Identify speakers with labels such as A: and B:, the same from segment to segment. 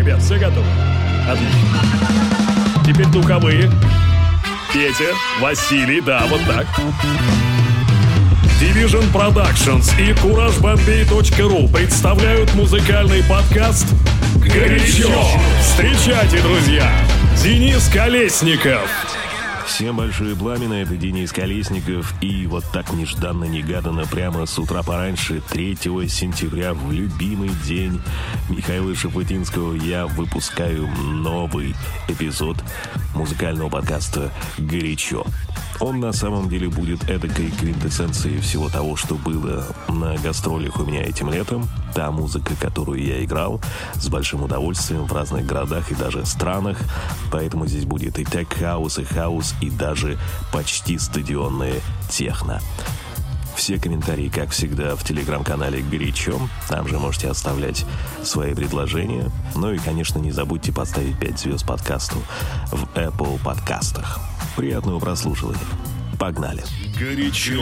A: Ребят, все готовы? Отлично. Теперь духовые. Петя, Василий, да, вот так. Division Productions и CourageBombay.ru представляют музыкальный подкаст «Горячо». Встречайте, друзья, Денис Колесников.
B: Всем большое пламя, это Денис Колесников. И вот так нежданно-негаданно прямо с утра пораньше, 3 сентября, в любимый день Михаила Шафутинского, я выпускаю новый эпизод музыкального подкаста «Горячо». Он на самом деле будет эдакой квинтэссенцией всего того, что было на гастролях у меня этим летом. Та музыка, которую я играл с большим удовольствием в разных городах и даже странах. Поэтому здесь будет и тек-хаус, и хаус, и даже почти стадионное техно. Все комментарии, как всегда, в телеграм-канале «Горячо». Там же можете оставлять свои предложения. Ну и, конечно, не забудьте поставить 5 звезд подкасту в Apple подкастах. Приятного прослушивания. Погнали.
A: Горячо.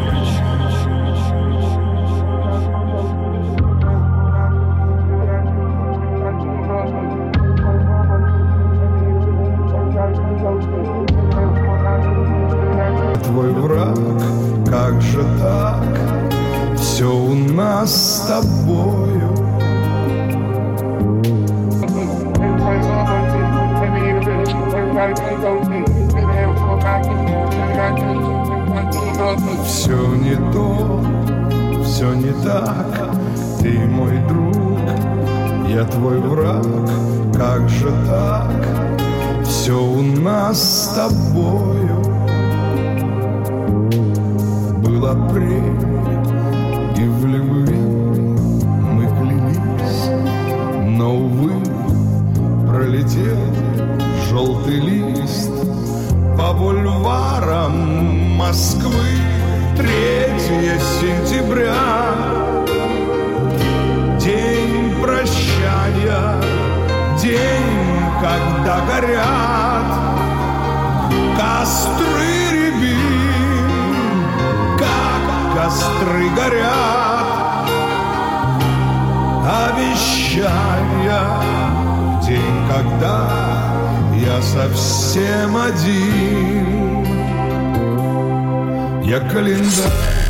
C: Твой враг, как же так? Все у нас с тобою. Все не то, все не так. Ты мой друг, я твой враг. Как же так? Все у нас с тобою. Был апрель, и в любви мы клялись, но, увы, пролетел желтый лист по бульварам Москвы. 3 сентября, день прощания, день, когда горят костры рябин, как костры горят, обещания, день, когда я совсем один. Я календарь.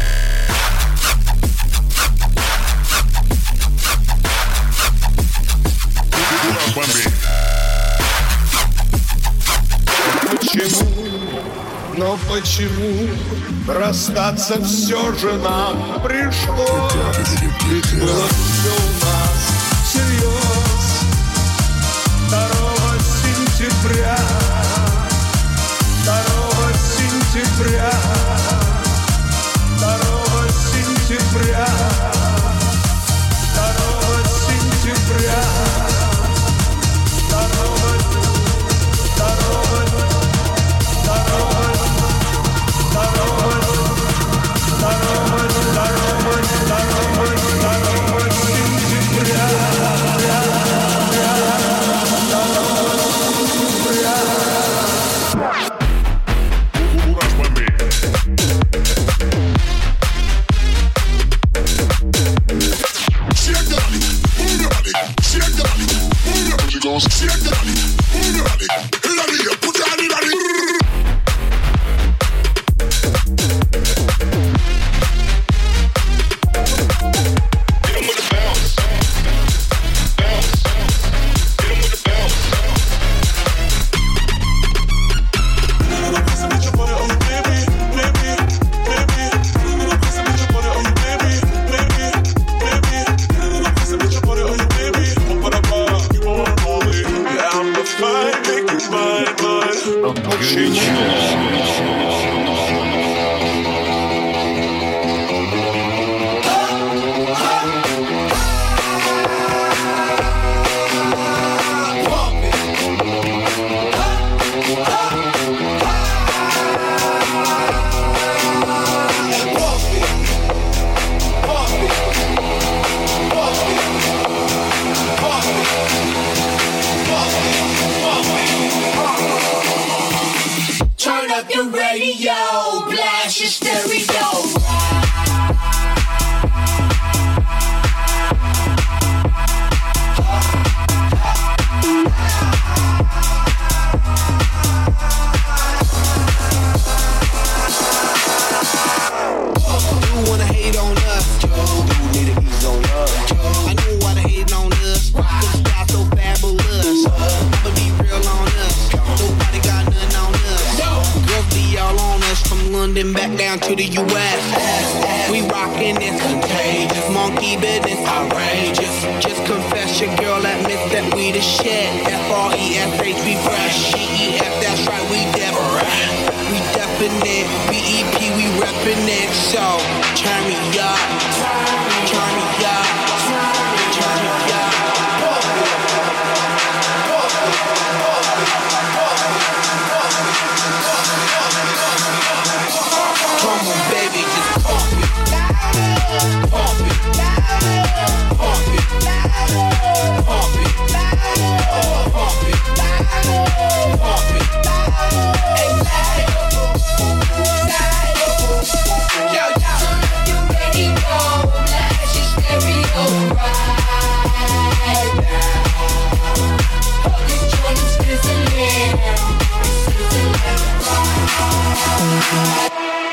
C: Почему, но почему расстаться все же нам пришлось? Ведь было все у нас всерьез. 2 сентября, 2 сентября, 2 сентября, 2 сентября,
D: 'Turn to the U.S. We rockin' this contagious, monkey business outrageous. Just confess your girl admits that we the shit. F-R-E-S-H, we fresh. G-E-F, that's right, we different. We definite, B-E-P, we reppin' it. So, turn me up, turn me up, turn me up. Come on, baby, just pump it, pump it, pump it, pump it, pump it, pump it. Yo, yo, you ready? Go, blast your stereo right now. All this joint is sizzling, right.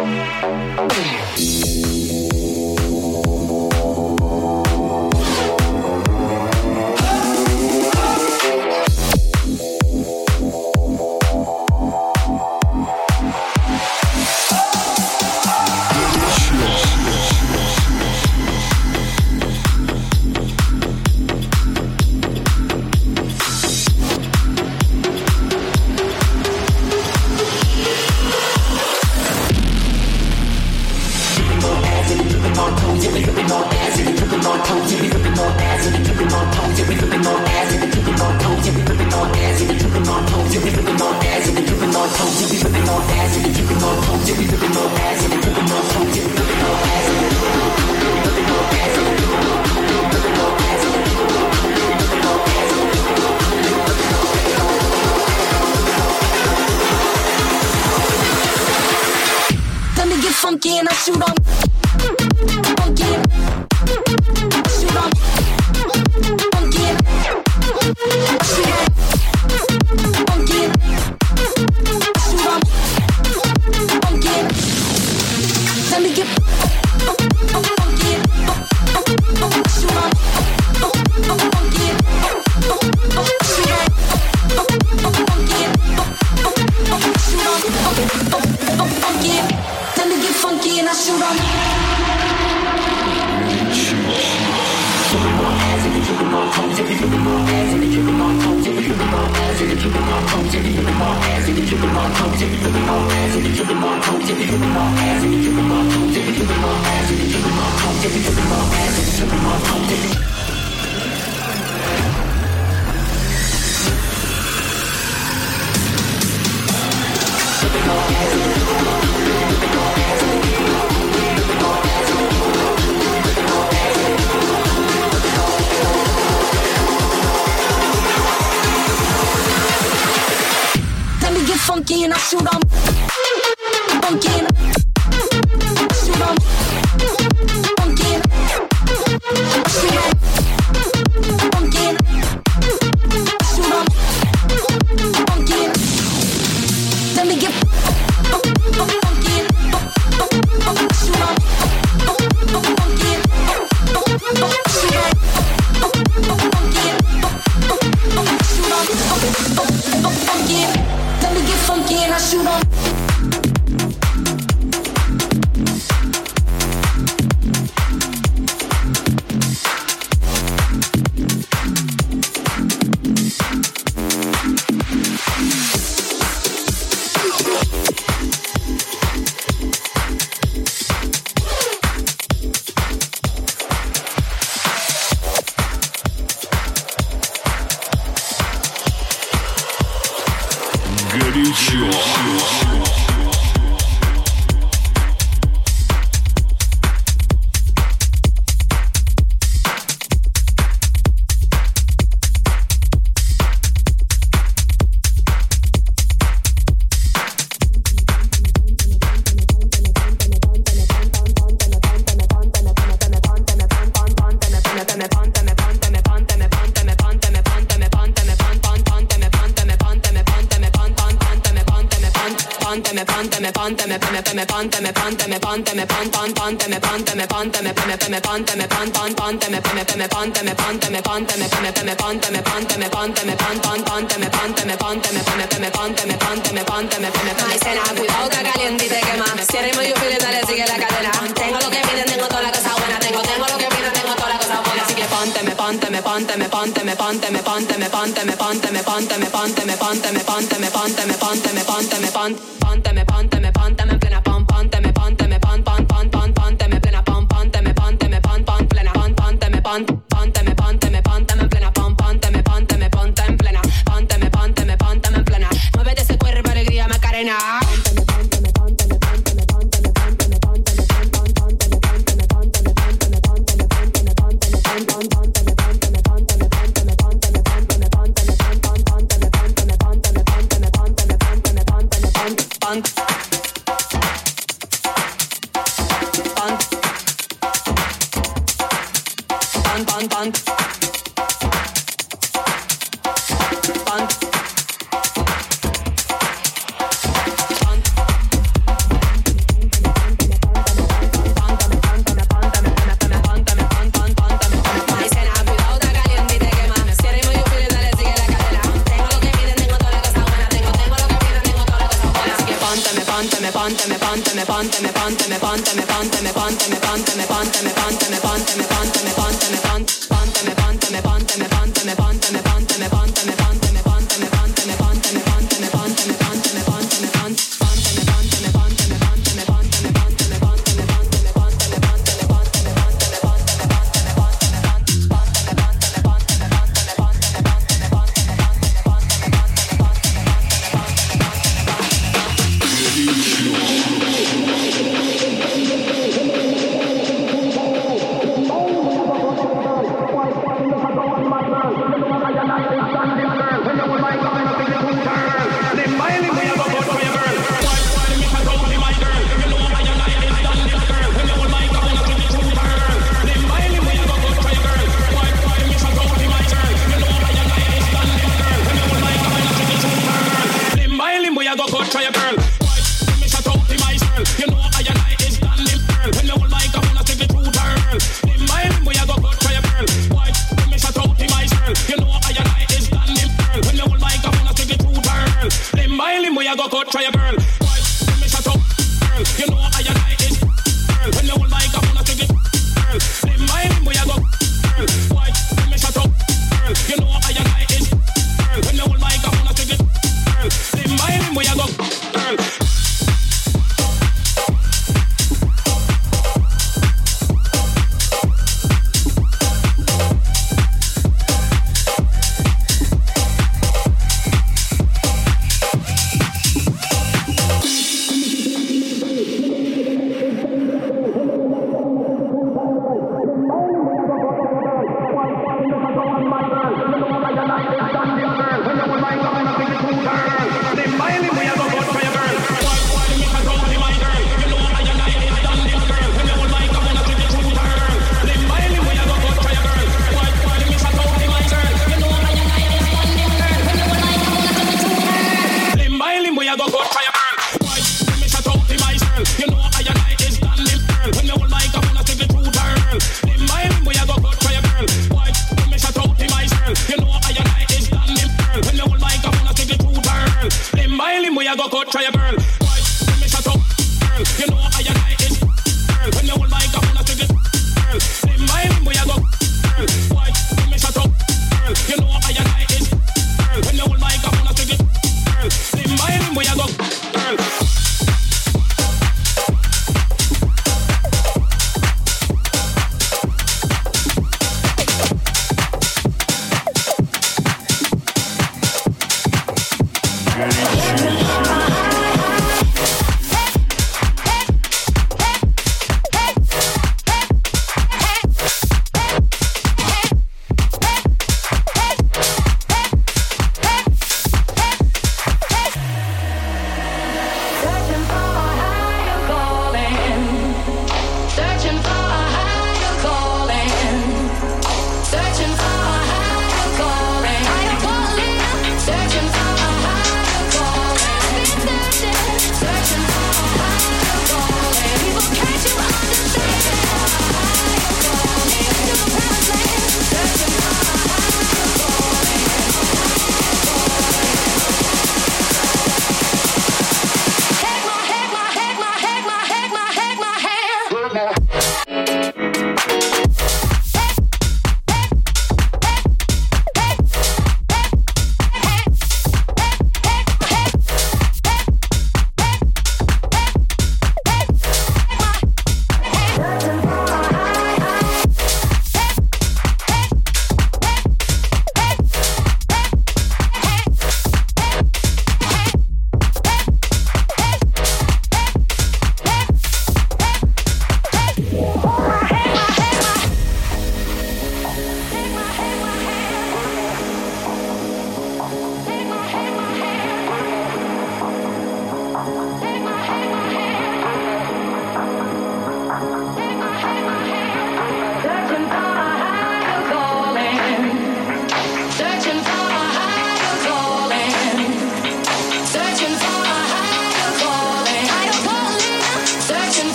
E: Funky and I shoot 'em. Funky, shoot 'em. Funky, shoot 'em. Funky, shoot 'em. Funky, let me get funky. Shoot 'em. Funky, shoot 'em. Funky, shoot 'em. Funky. Let me get funky and I shoot 'em. Funky and I shoot 'em. Funky and I shoot 'em. Funky and I shoot 'em. Funky and I shoot 'em. Funky and let me get funky and shoot 'em. Funky and shoot 'em. Funky and shoot 'em. Funky and let me get funky and I shoot 'em.
F: Cuidado, está caliente y te quema. Si eres medio feliz, dale, sigue la cadena. Tengo lo que piden, tengo toda la cosa buena. Tengo lo que piden, tengo toda la cosa buena. Así que ponte en plena pon, ponte me pon, ponte me pon, pon, pon, pon, ponte me plena pon, ponte me pon, pon, plena pon, ponte me pon, ponte me en plena pon, ponte me en plena, ponte me en plena. Muévete ese cuerpo, alegría, Macarena.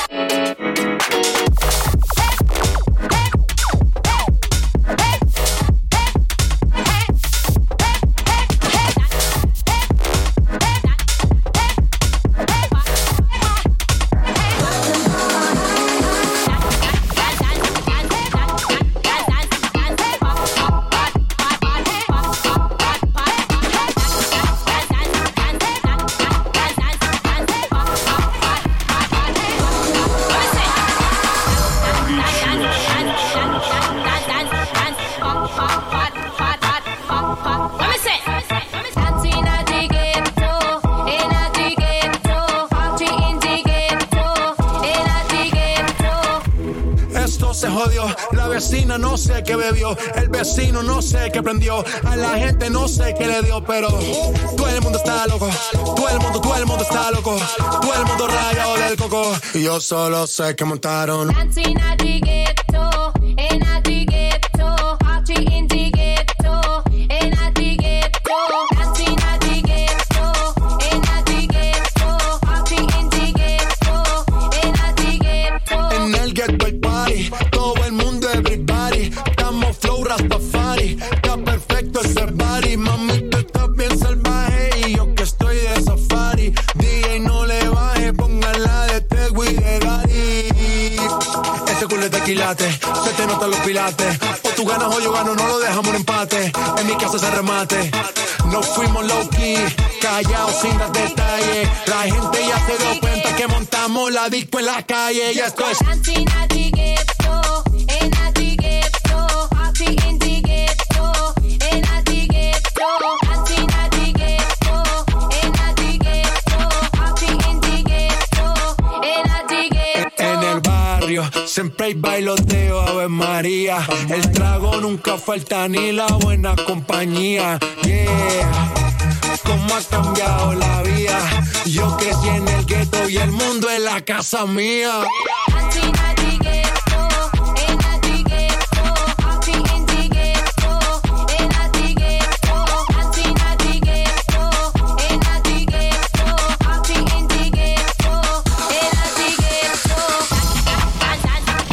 G: Se jodió, la vecina no sé qué bebió, el vecino no sé qué prendió, a la gente no sé qué le dio, pero todo el mundo está loco, todo el mundo está loco, todo el mundo rayado del coco, y yo solo sé que montaron.
E: Dancing at the ghetto, and at the ghetto, party in the ghetto, and at the ghetto, dancing at the ghetto, and at the ghetto, party in the ghetto, and at the ghetto.
G: En el ghetto hay party, todo el mundo everybody, estamos flow Rastafari, está perfecto ese body, mami tú estás bien salvaje y yo que estoy de safari, DJ no le baje, póngala de Tego y de Daddy. Ese culo es de quilate, se te notan los pilates, o tú ganas o yo gano, no lo dejamos en empate, en mi casa se remate. Nos fuimos low key, callados sin dar detalles. La gente ya se dio cuenta que montamos la disco en la calle. Ya esto es
E: Dancing at the ghetto, and at the ghetto, party in the ghetto, and at the ghetto, dancing at the ghetto, and at the ghetto, party in the ghetto, and at the ghetto.
G: en el barrio. Siempre hay bailoteo, Ave María. El trago nunca falta ni la buena compañía. Yeah. Cómo ha cambiado la vida. Yo crecí en el gueto y el mundo es la casa mía.
E: Dancing at the ghetto, and at the ghetto, party in the ghetto, and at the ghetto, dancing at the ghetto, and at the ghetto, party in the ghetto, and at the ghetto. Dance, dance, dance,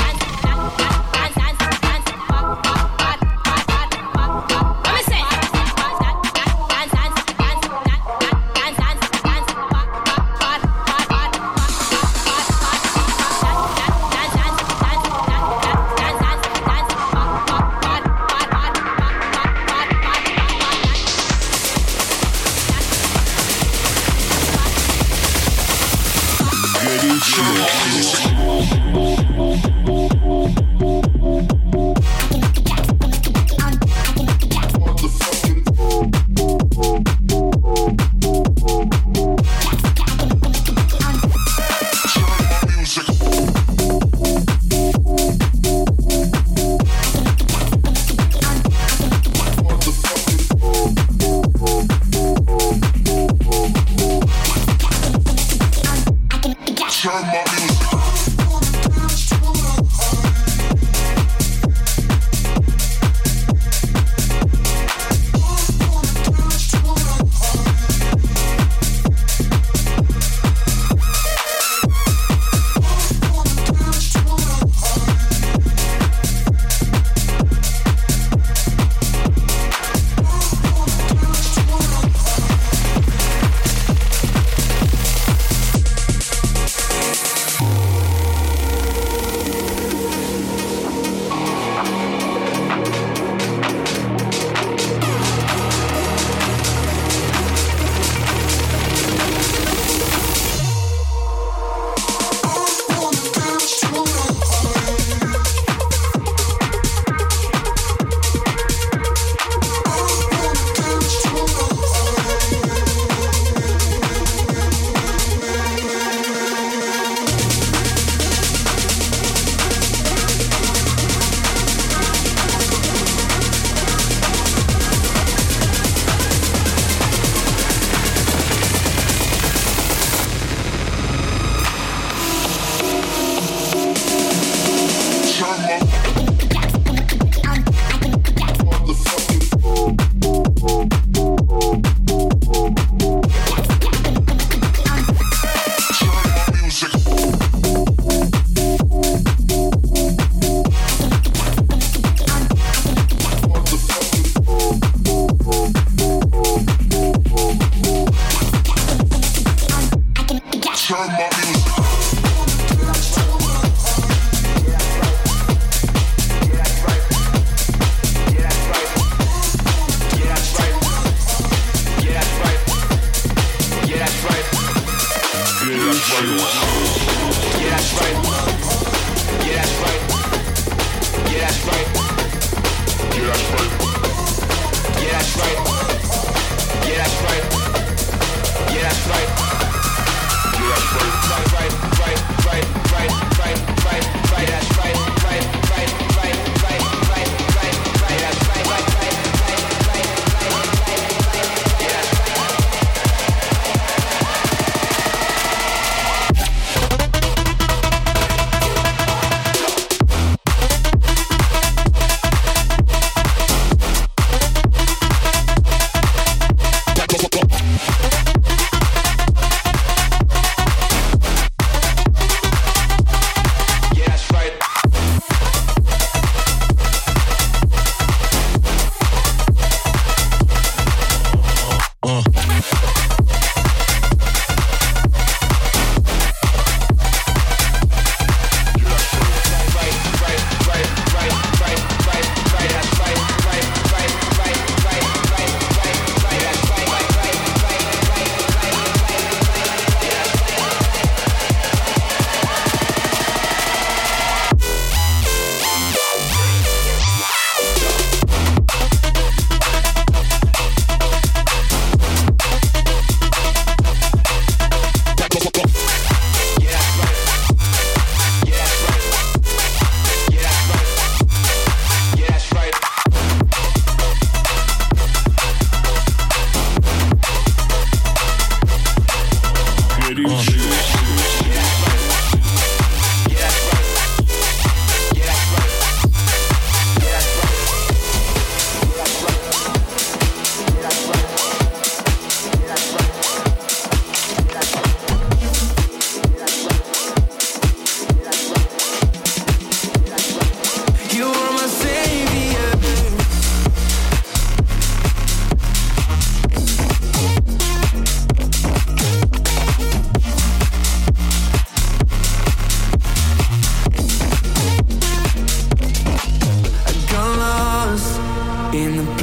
E: dance, dance, dance, dance, pop, pop, pop, pop, pop, pop, pop. Let me say, dance, dance, dance, dance, dance, dance, dance, dance, pop, pop, pop, pop, pop, pop.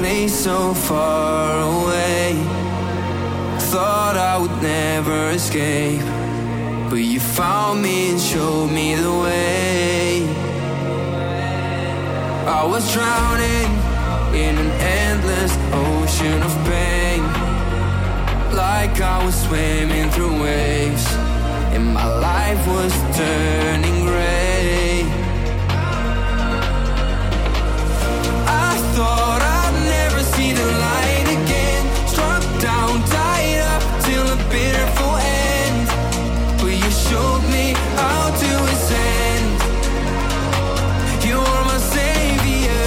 H: place so far away. Thought I would never escape, but you found me and showed me the way. I was drowning in an endless ocean of pain, like I was swimming through waves, and my life was turning gray. I thought I'd never see the light again, struck down, tied up till a bitter end, but you showed me how to ascend. You are my savior.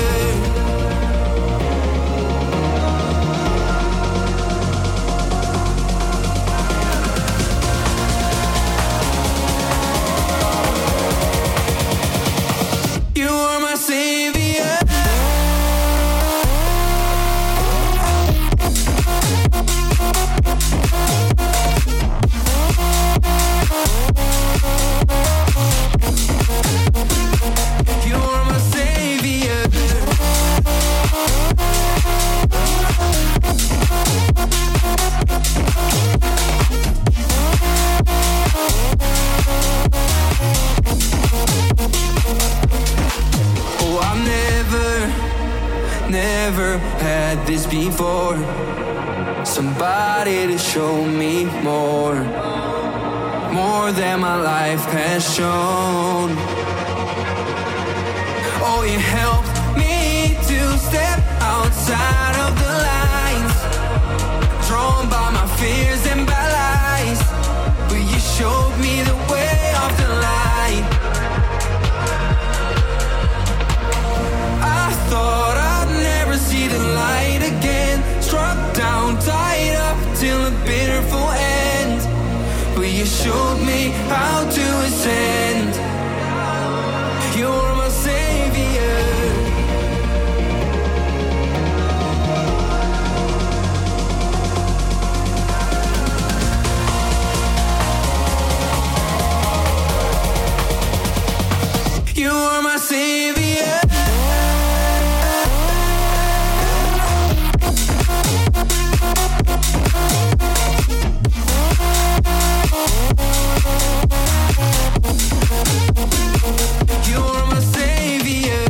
H: You are my savior. You are my savior. Oh, I've never had this before. Somebody to show me more than my life has shown. Oh, you helped me to step outside of the lines, drawn by my fears and by lies, but you showed me the way of the light. I thought I'd never see the light again, struck down, tied up till a bitter end, but you showed me how to ascend. You're my savior. You are my savior. You're my savior.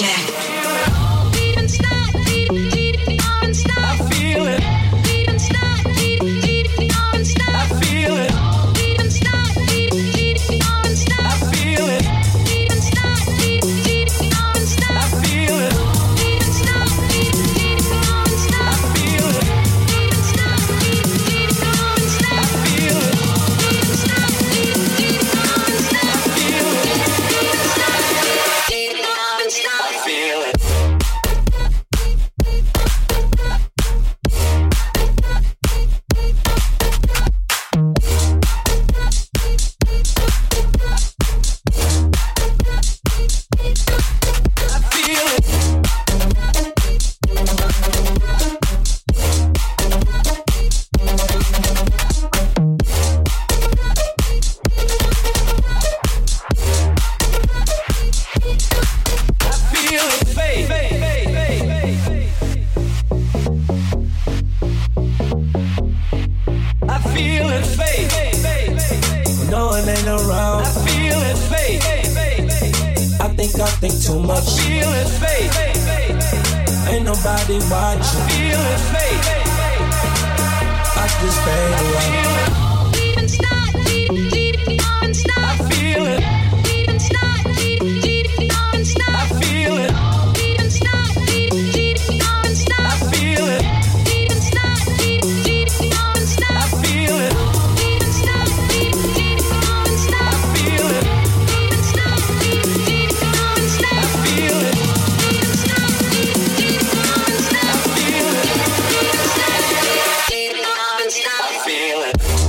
I: I feel it.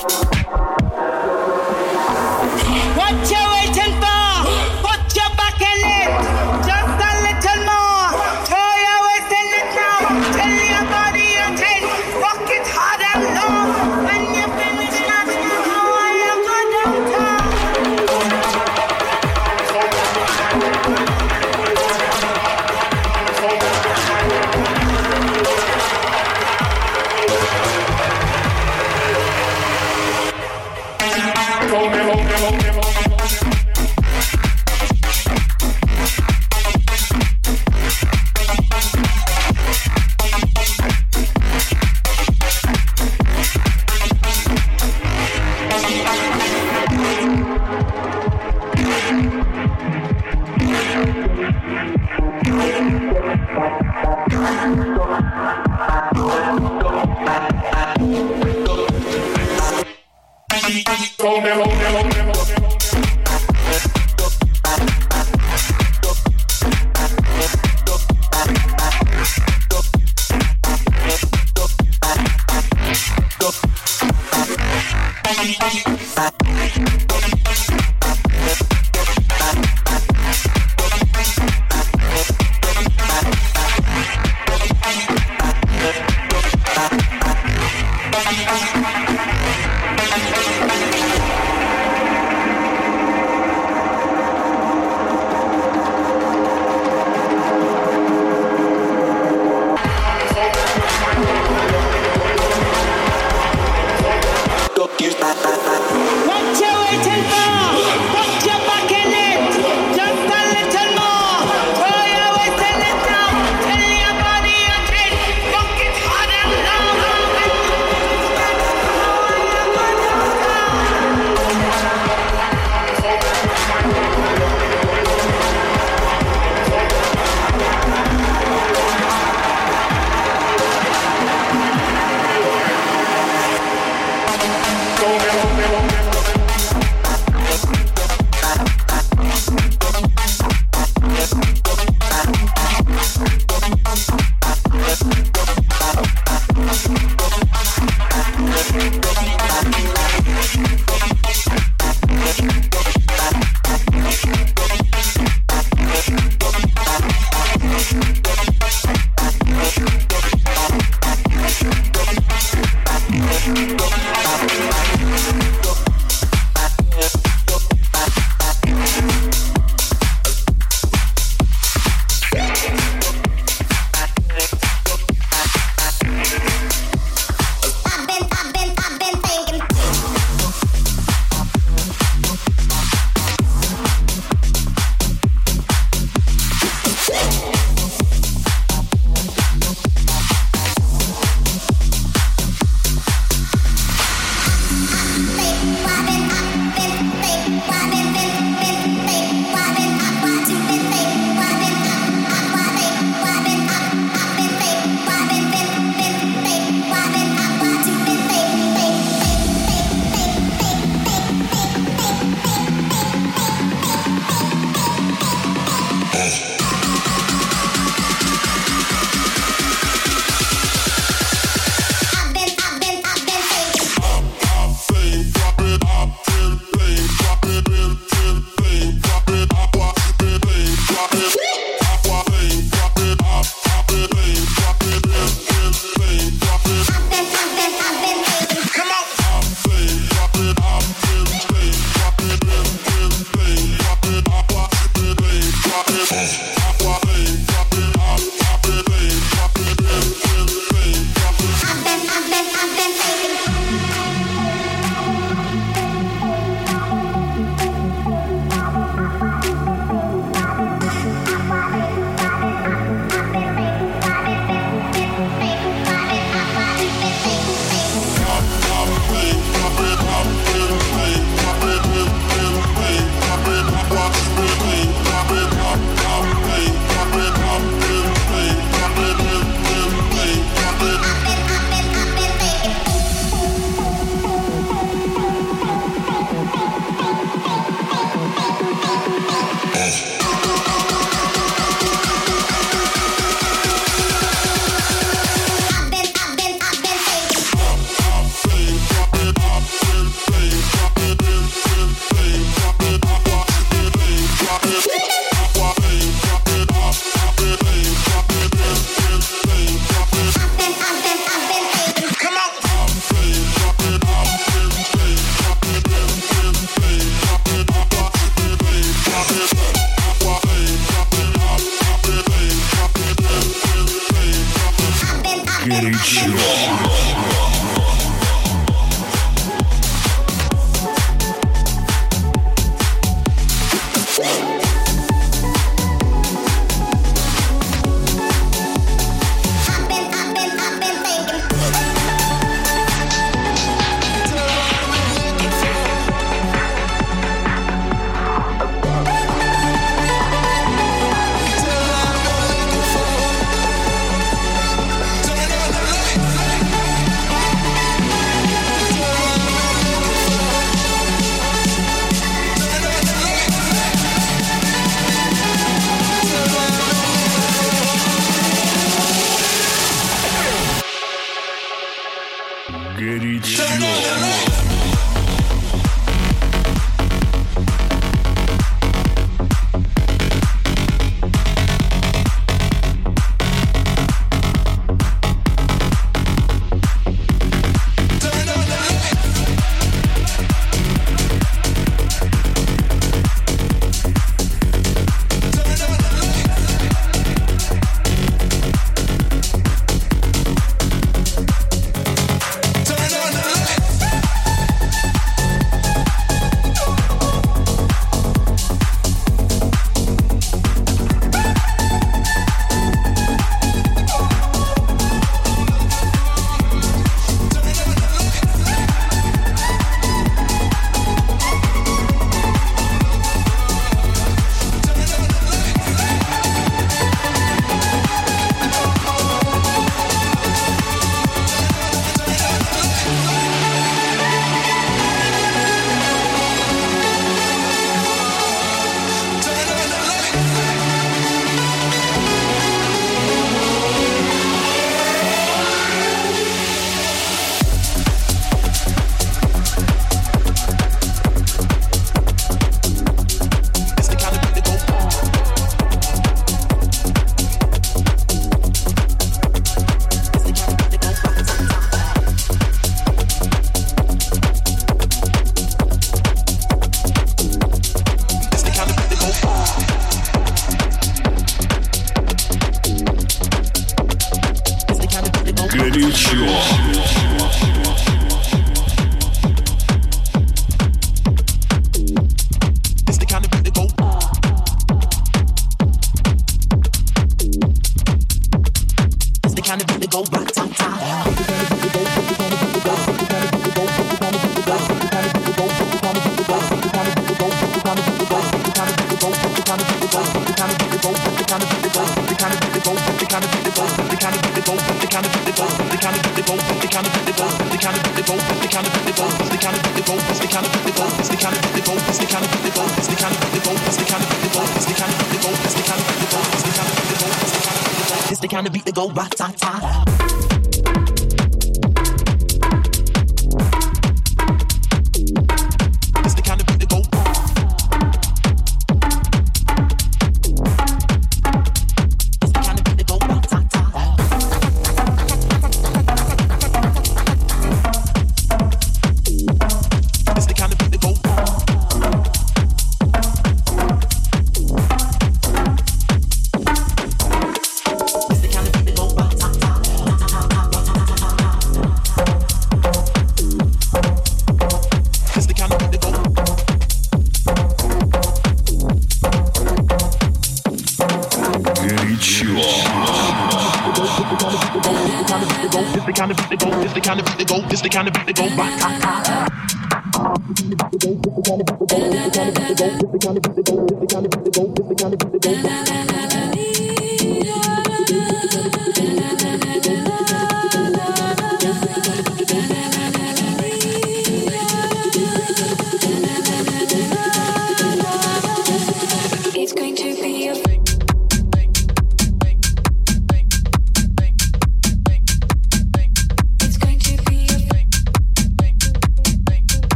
I: Drop it up.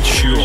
A: Горячо.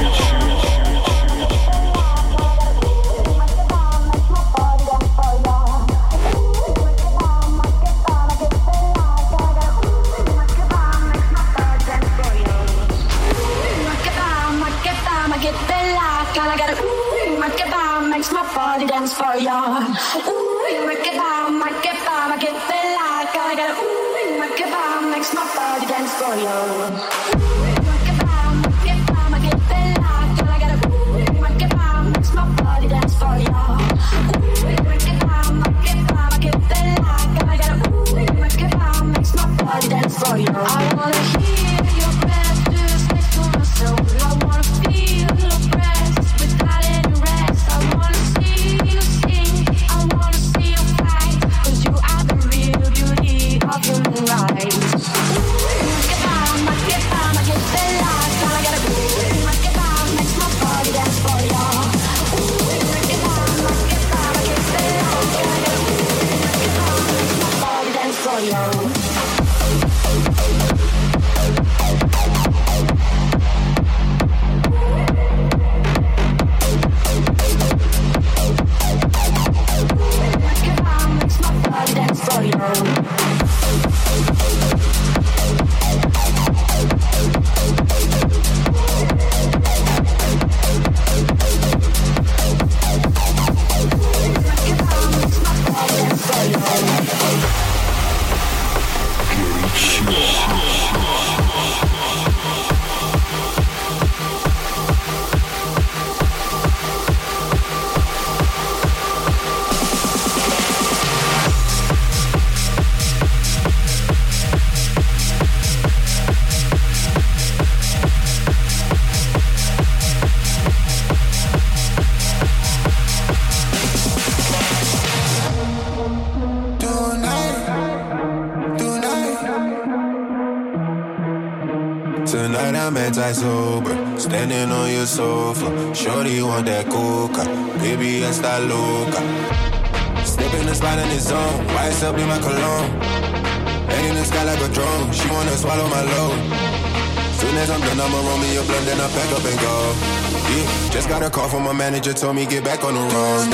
E: Dance for ya. Ooh, make it bomb, make it bomb, I get the light. Gotta get ooh, make it bomb, makes my body dance for ya. Ooh, make it bomb, I get the light. Gotta get ooh, make it bomb, makes my body dance for ya. Ooh, make it bomb, I get the light. Gotta get ooh, make it bomb, makes my body dance for ya. I wanna hear your breath just next to my soul. I wanna feel your breath without any rest. I wanna see you sing, I wanna see you fight, 'cause you are the real beauty of human rights. Make it bomb, I get the light. All I gotta do is make it bomb, makes my body dance for ya. Make it bomb, I get the light. All I gotta do is make it bomb, makes my body dance for ya.
G: Tonight I'm anti-sober, standing on your sofa. Shorty want that coca, baby esta loca. Step in the spot in the zone, wise up in my cologne. Head in the sky like a drone, she wanna swallow my load. Soon as I'm done, I'ma roll me a blunt, then I pack up and go. Yeah, just got a call from my manager, told me get back on the road.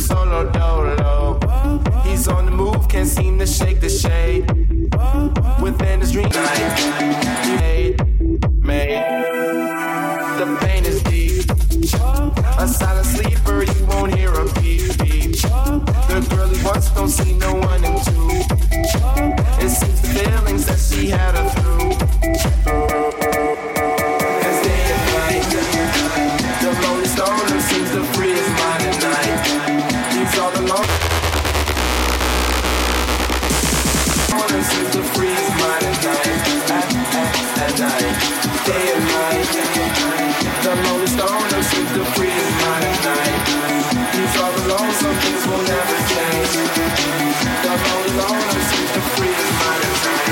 I: solo dolo. He's on the move, can't seem to shake the shade. Within his dream night, made. The pain is deep. A silent sleeper, you won't hear a beep beep. The girl he wants don't see no one in two. It seems the feelings that she had her through. As day and night, the lonely stoner seems to free his mind at night. He's all alone. Seems to free his mind at night. At night, day and night. The lonely stoner seems to free his mind at night. He's all alone, some things will never change. The lonely loner seems to free his mind at night.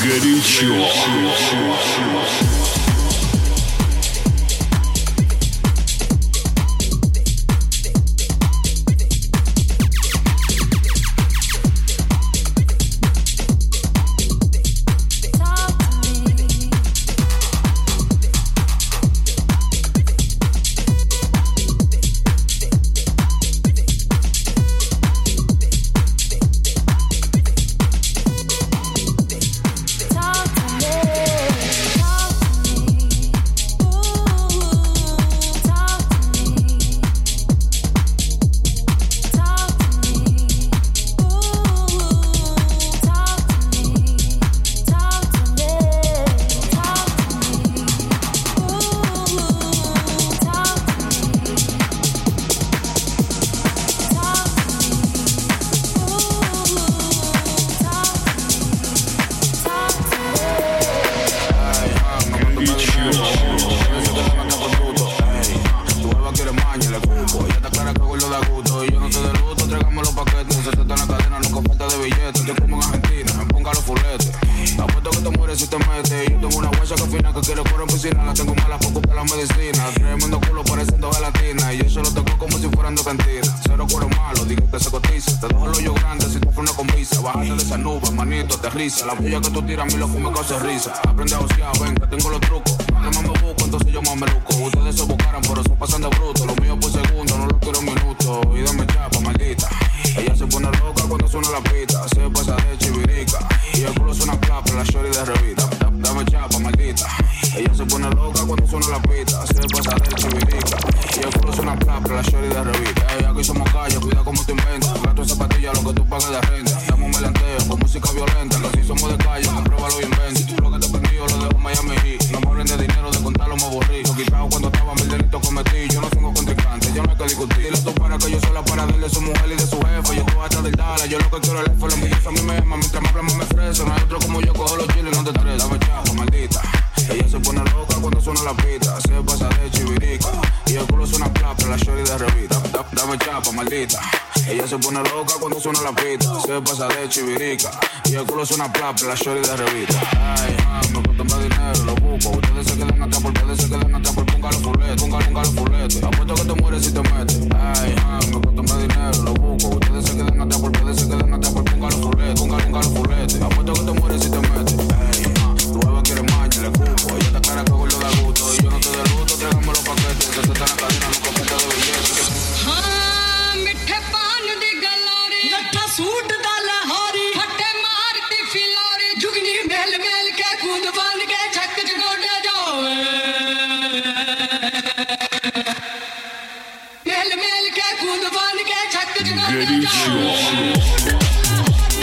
A: Горячо.
J: La puya que tú tiras a mí lo que me causa risa. Aprende a osear, ven, que tengo los trucos. Entre más me busco, entonces yo más me luco. Ustedes se buscaran, pero se pasan de bruto. Lo mío por segundo, no lo quiero en minutos. Y dame chapa, maldita. Ella se pone loca cuando suena la pita. Se pasa de chivirica. Y el culo suena clap, la shorty de revista. Dame chapa, maldita. Ella se pone loca cuando suena la pita. Se pasa de chivirica. Y el culo suena clap, la shorty de revista. Aquí somos calle, cuida como te inventas. Gato en zapatilla, lo que tú pagas de renta. Dame un melanteo con música violenta. Somos de calle, compruébalo y inventa. Si tú lo que te prendió, lo dejo en Miami Heat. No me hablen de dinero, de contarlo me aburrí. Lo quitado cuando estaba, mil delitos cometí. Yo no tengo contrincante, yo no hay que discutir. Dile tú para que yo soy la paradela de su mujer y de su jefe. Yo estoy hasta del Dala, yo lo que quiero es el F. La envidiosa a mí me ama, mientras más hablamos me ofrece. No hay otro como yo, cojo los chiles, no te traes. Dame chapa, maldita. Ella se pone loca cuando suena la pita. Se pasa de chivirica. Y el culo suena plata, la shorty de revista. Dame chapa, maldita. Ella se pone loca cuando suena la pita. Se pasa de chivirica. Y el culo suena plata, la shorty de revista. Ay, me gusta más dinero, lo busco. Ustedes se quedan atrás porque ustedes se quedan atrás por ponga los fuletes. Ponga los fuletes. Apuesto que te mueres si te metes. Ay, me gusta más dinero, lo busco. Ustedes se quedan atrás porque ustedes se quedan atrás por ponga los fuletes. Ponga los fuletes. Apuesto que te mueres si te metes. Ay, tu bebé quiere más, le cupo. Ella te cara que gordo da gusto. Y yo no te deluto, tráigame los paquetes. Que te están en la cadena, no compete de billetes.
K: मिठे पान दी गलारी लट्ठा suit दा लहारी फटे मारती Phillauri जुगनी mail mail के कूद बन के छक गोडे जावे मेल मेल के कूद बन के छक गोडे जावे